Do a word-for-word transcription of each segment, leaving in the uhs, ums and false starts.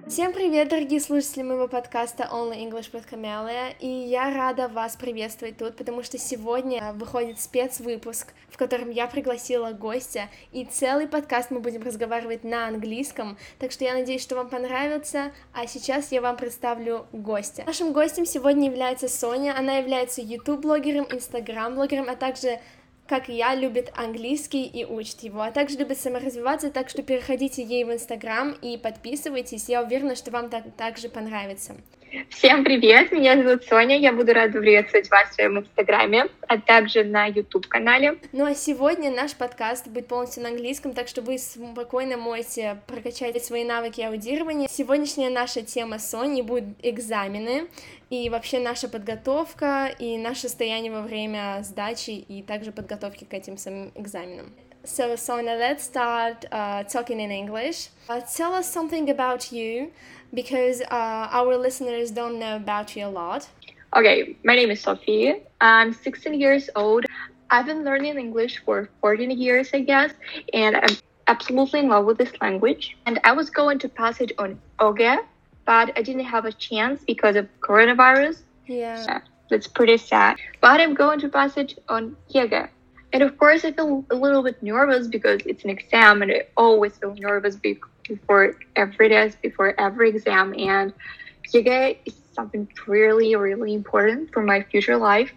Всем привет, дорогие слушатели моего подкаста Only English with Camelia, и я рада вас приветствовать тут, потому что сегодня выходит спецвыпуск, в котором я пригласила гостя, и целый подкаст мы будем разговаривать на английском, так что я надеюсь, что вам понравится, а сейчас я вам представлю гостя. Нашим гостем сегодня является Соня, она является YouTube-блогером, Instagram-блогером, а также как и я, любит английский и учит его, а также любит саморазвиваться, так что переходите ей в Инстаграм и подписывайтесь, я уверена, что вам так, также понравится. Всем привет, меня зовут Соня, я буду рада приветствовать вас в своем Инстаграме, а также на YouTube-канале. Ну а сегодня наш подкаст будет полностью на английском, так что вы спокойно можете прокачать свои навыки аудирования. Сегодняшняя наша тема Сони будут экзамены, и вообще наша подготовка, и наше состояние во время сдачи, и также подготовки к этим самым экзаменам. So, Sonia, let's start uh, talking in English. Uh, tell us something about you, because uh, our listeners don't know about you a lot. Okay, my name is Sophie. I'm sixteen years old. I've been learning English for fourteen years, I guess, and I'm absolutely in love with this language. And I was going to pass it on O G E, but I didn't have a chance because of coronavirus. Yeah. So that's pretty sad. But I'm going to pass it on Y G E. And of course, I feel a little bit nervous because it's an exam, and I always feel nervous before every test, before every exam. And Y G E is something really, really important for my future life.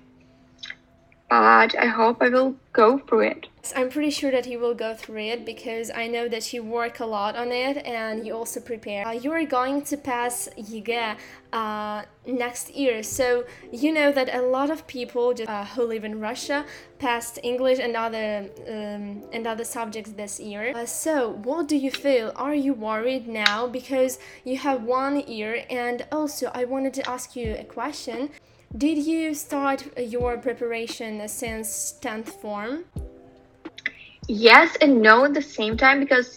But I hope I will go through it. I'm pretty sure that you will go through it because I know that you work a lot on it and you also prepare. Uh, you are going to pass Y G E uh, next year, so you know that a lot of people just, uh, who live in Russia passed English and other um, and other subjects this year. Uh, so what do you feel? Are you worried now because you have one year? And also I wanted to ask you a question. Did you start your preparation since tenth form? Yes and no at the same time, because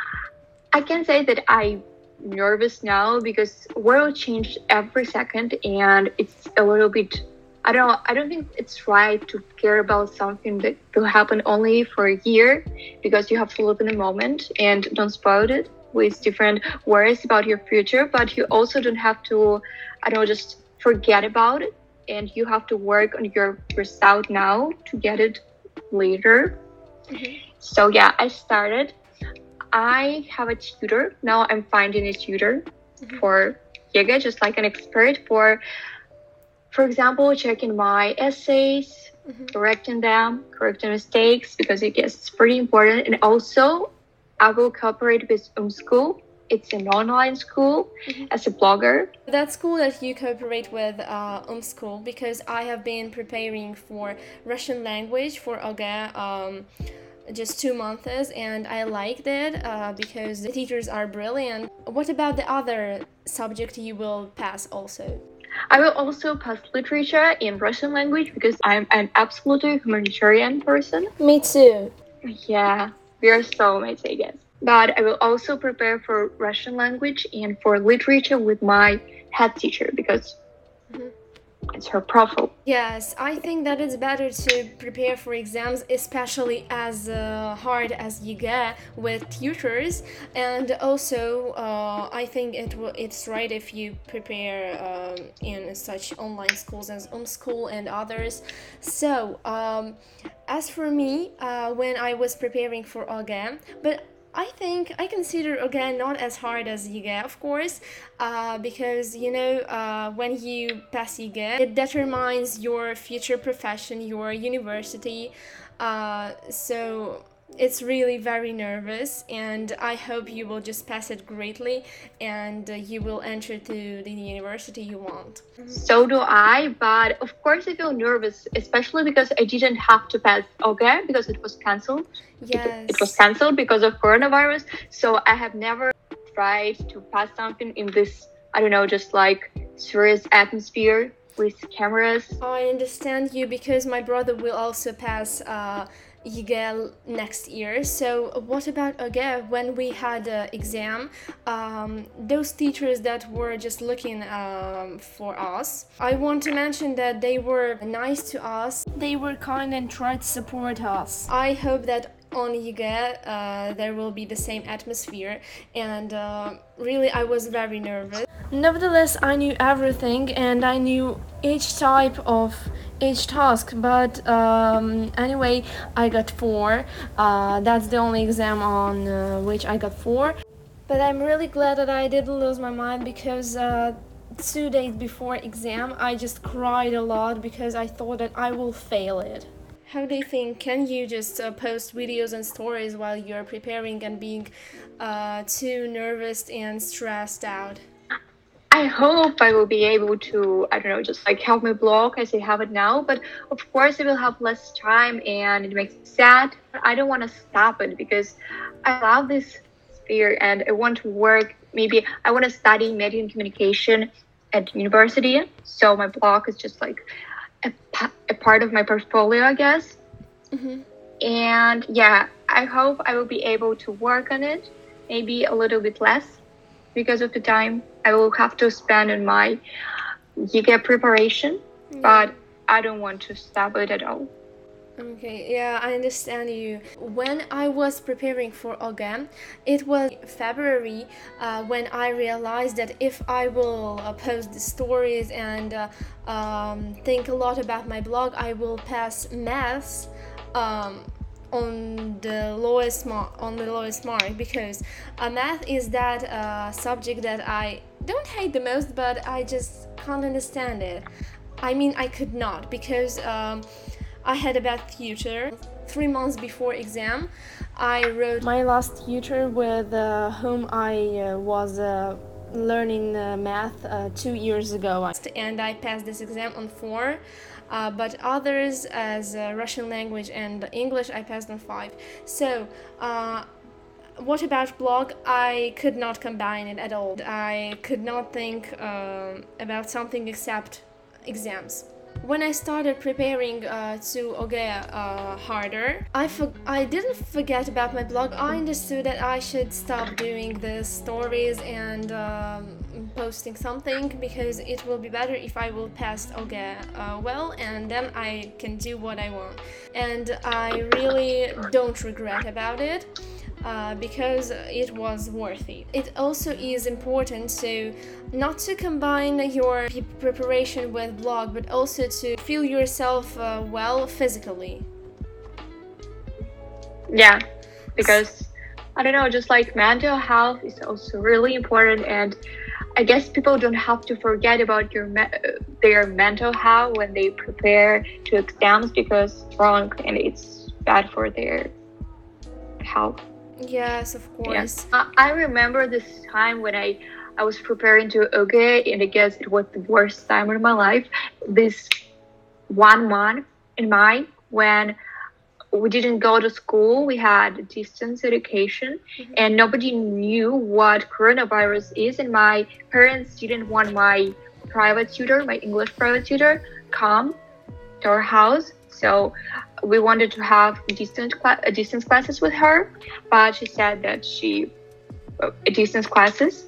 I can say that I'm nervous now because world changed every second, and it's a little bit, I don't I don't think it's right to care about something that will happen only for a year, because you have to live in the moment and don't spoil it with different worries about your future, but you also don't have to, I don't know, just forget about it, and you have to work on your result now to get it later. Mm-hmm. So yeah, I started. I have a tutor. Now I'm finding a tutor mm-hmm. for Y G E, just like an expert for, for example, checking my essays, mm-hmm. correcting them, correcting mistakes, because I guess it's pretty important. And also, I will cooperate with umSchool. It's an online school mm-hmm. as a blogger. That's cool that you cooperate with uh, umSchool, because I have been preparing for Russian language for O G E um, just two months, and I liked it uh, because the teachers are brilliant. What about the other subject you will pass also? I will also pass literature in Russian language because I'm an absolutely humanitarian person. Me too. Yeah, we are soulmates, I guess. But I will also prepare for Russian language and for literature with my head teacher, because mm-hmm. it's her profile. Yes, I think that it's better to prepare for exams, especially as uh, hard as Y G E with tutors. And also, uh, I think it w- it's right if you prepare um, in such online schools as umSchool and others. So, um, as for me, uh, when I was preparing for O G E, but I think I consider O G E not as hard as Y G E, of course, uh, because, you know, uh, when you pass Y G E, it determines your future profession, your university, uh, so it's really very nervous, and I hope you will just pass it greatly, and uh, you will enter to the university you want. So do I, but of course I feel nervous, especially because I didn't have to pass O G E because it was cancelled. Yes. It, it was cancelled because of coronavirus, so I have never tried to pass something in this, I don't know, just like serious atmosphere with cameras. I understand you, because my brother will also pass uh, Y G E next year. So what about O G E? When we had an exam, um, those teachers that were just looking um, for us, I want to mention that they were nice to us. They were kind and tried to support us. I hope that on YIGA, uh, there will be the same atmosphere, and uh, really I was very nervous. Nevertheless, I knew everything and I knew each type of each task, but um, anyway, I got four. Uh, that's the only exam on uh, which I got four. But I'm really glad that I didn't lose my mind, because uh, two days before exam I just cried a lot because I thought that I will fail it. How do you think? Can you just uh, post videos and stories while you're preparing and being uh, too nervous and stressed out? I hope I will be able to, I don't know, just like have my blog as I have it now. But of course, I will have less time and it makes me sad. I don't want to stop it because I love this sphere and I want to work. Maybe I want to study media and communication at university. So my blog is just like a, a part of my portfolio, I guess. Mm-hmm. And yeah, I hope I will be able to work on it, maybe a little bit less because of the time I will have to spend on my YIGA preparation, Yeah. but I don't want to stop it at all. Okay, yeah, I understand you. When I was preparing for OGA, it was February uh, when I realized that if I will uh, post the stories and uh, um, think a lot about my blog, I will pass maths um, on the lowest mark. On the lowest mark, because uh, math is that uh, subject that I don't hate the most, but I just can't understand it. I mean, I could not, because. Um, I had a bad tutor. Three months before exam, I wrote my last tutor with uh, whom I uh, was uh, learning uh, math uh, two years ago, and I passed this exam on four. Uh, but others, as uh, Russian language and English, I passed on five. So. Uh, What about blog? I could not combine it at all. I could not think um, about something except exams. When I started preparing uh, to OGA uh, harder, I for- I didn't forget about my blog. I understood that I should stop doing the stories and um, posting something, because it will be better if I will pass OGA uh, well, and then I can do what I want. And I really don't regret about it. Uh, because it was worth it. It also is important to not to combine your p- preparation with blog, but also to feel yourself uh, well physically. Yeah, because I don't know, just like mental health is also really important, and I guess people don't have to forget about your me- their mental health when they prepare to exams, because it's wrong and it's bad for their health. Yes, of course. Yeah. I remember this time when I, I was preparing to OGA, and I guess it was the worst time of my life. This one month in May when we didn't go to school, we had distance education, mm-hmm. and nobody knew what coronavirus is. And my parents didn't want my private tutor, my English private tutor, come to our house. So we wanted to have distance cl- distance classes with her, but she said that she uh, distance classes.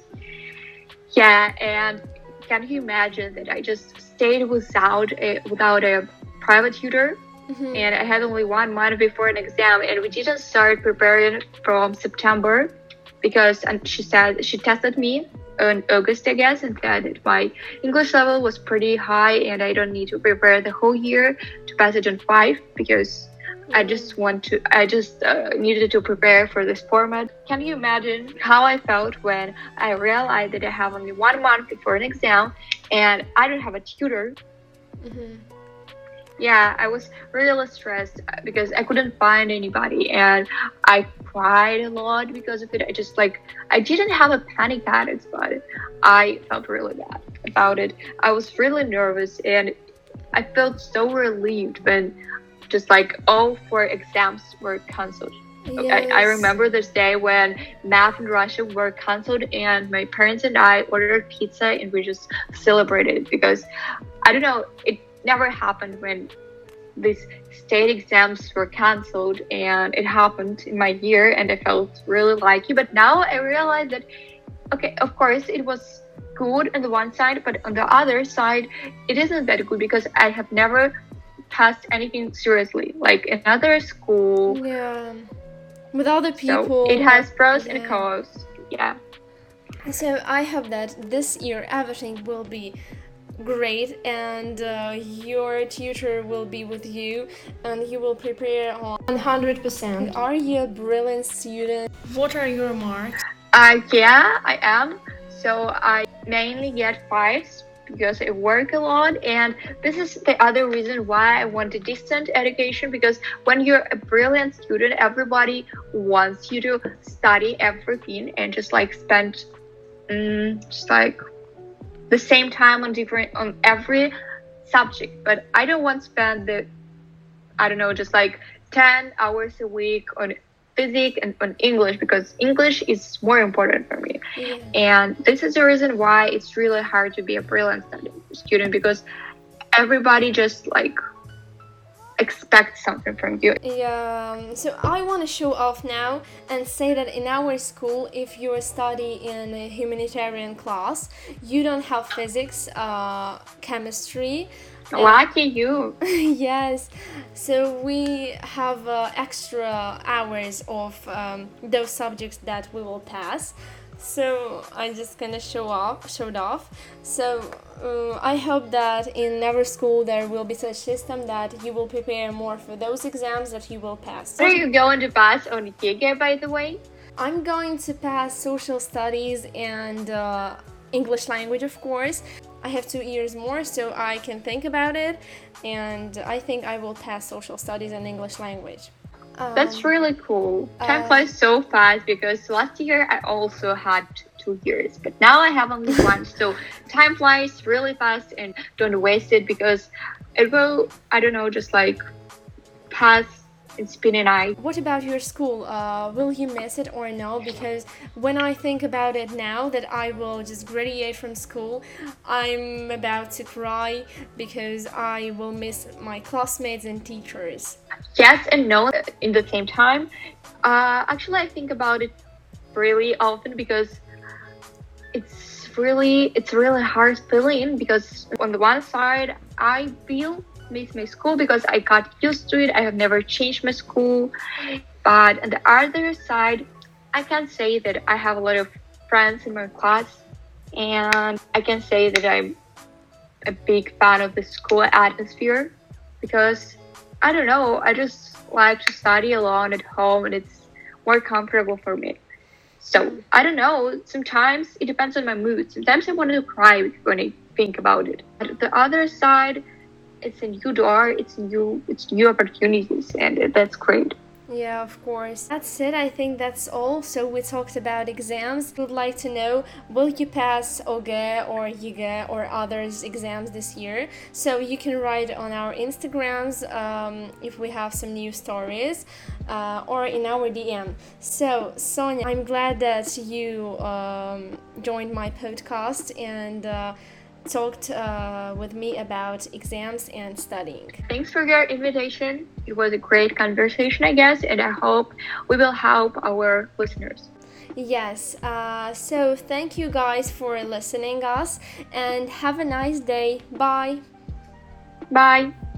Yeah, and can you imagine that I just stayed without a without a private tutor, mm-hmm. and I had only one month before an exam, and we didn't start preparing from September, because and she said she tested me in August, I guess, and said that my English level was pretty high and I don't need to prepare the whole year to pass it on five, because I just want to, I just uh, needed to prepare for this format. Can you imagine how I felt when I realized that I have only one month before an exam and I don't have a tutor? Mm-hmm. Yeah, I was really stressed because I couldn't find anybody, and I cried a lot because of it. I just like, I didn't have a panic attacks, but I felt really bad about it. I was really nervous, and I felt so relieved when just like all four exams were cancelled. Yes. I, I remember this day when math and Russia were cancelled, and my parents and I ordered pizza and we just celebrated, because I don't know, it never happened when these state exams were cancelled, and it happened in my year, and I felt really lucky. But now I realize that, okay, of course it was good on the one side, but on the other side it isn't that good, because I have never passed anything seriously, like another school. Yeah. with other So people. it has pros and Yeah. cons. Yeah. So I hope that this year everything will be great, and uh, your tutor will be with you and he will prepare on one hundred percent. Are you a brilliant student? What are your marks? Uh, yeah, I am. So I mainly get fives because I work a lot, and this is the other reason why I want a distant education, because when you're a brilliant student, everybody wants you to study everything and just like spend um, just like the same time on different on every subject. But I don't want to spend the I don't know just like ten hours a week on physics and on English, because English is more important for me. Yeah. And this is the reason why it's really hard to be a brilliant student, because everybody just like expects something from you. Yeah, um, so I want to show off now and say that in our school, if you study in a humanitarian class, you don't have physics, uh, chemistry. and- Lucky you. Yes, so we have uh, extra hours of um, those subjects that we will pass. So I'm just gonna show off, showed off. So uh, I hope that in our school there will be such system that you will prepare more for those exams that you will pass. What are you going to pass on G G, by the way? I'm going to pass social studies and uh, English language, of course. I have two years more, so I can think about it, and I think I will pass social studies and English language. Um, That's really cool. Time uh, flies so fast, because last year I also had two years, but now I have only one. So time flies really fast, and don't waste it, because it will, I don't know, just like pass in spin an eye. What about your school? Uh, will you miss it or no? Because when I think about it now that I will just graduate from school, I'm about to cry because I will miss my classmates and teachers. Yes and no in the same time. Uh, actually, I think about it really often, because it's really it's really hard feeling, because on the one side I feel miss my school because I got used to it. I have never changed my school. But on the other side, I can say that I have a lot of friends in my class, and I can say that I'm a big fan of the school atmosphere, because I don't know, I just like to study alone at home, and it's more comfortable for me. So I don't know, sometimes it depends on my mood. Sometimes I want to cry when I think about it. But the other side, it's a new door, it's new it's new opportunities, and that's great. Yeah, of course. That's it. I think that's all. So we talked about exams. Would like to know, will you pass O G E or Y G E or others exams this year? So you can write on our Instagrams um, if we have some new stories, uh, or in our D M. So Sonia, I'm glad that you um, joined my podcast and uh, talked uh, with me about exams and studying. Thanks for your invitation. It was a great conversation, I guess, and I hope we will help our listeners. Yes, uh, so thank you guys for listening us and have a nice day. Bye. Bye.